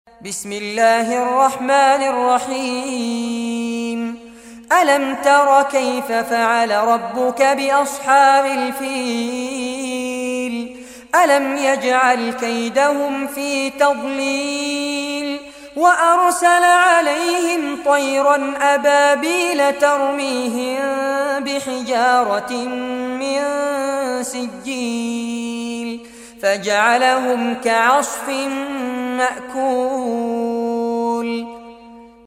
بسم الله الرحمن الرحيم. ألم تر كيف فعل ربك بأصحاب الفيل؟ ألم يجعل كيدهم في تضليل وأرسل عليهم طيرا أبابيل ترميهم بحجارة من سجيل فجعلهم كعصف مأكول.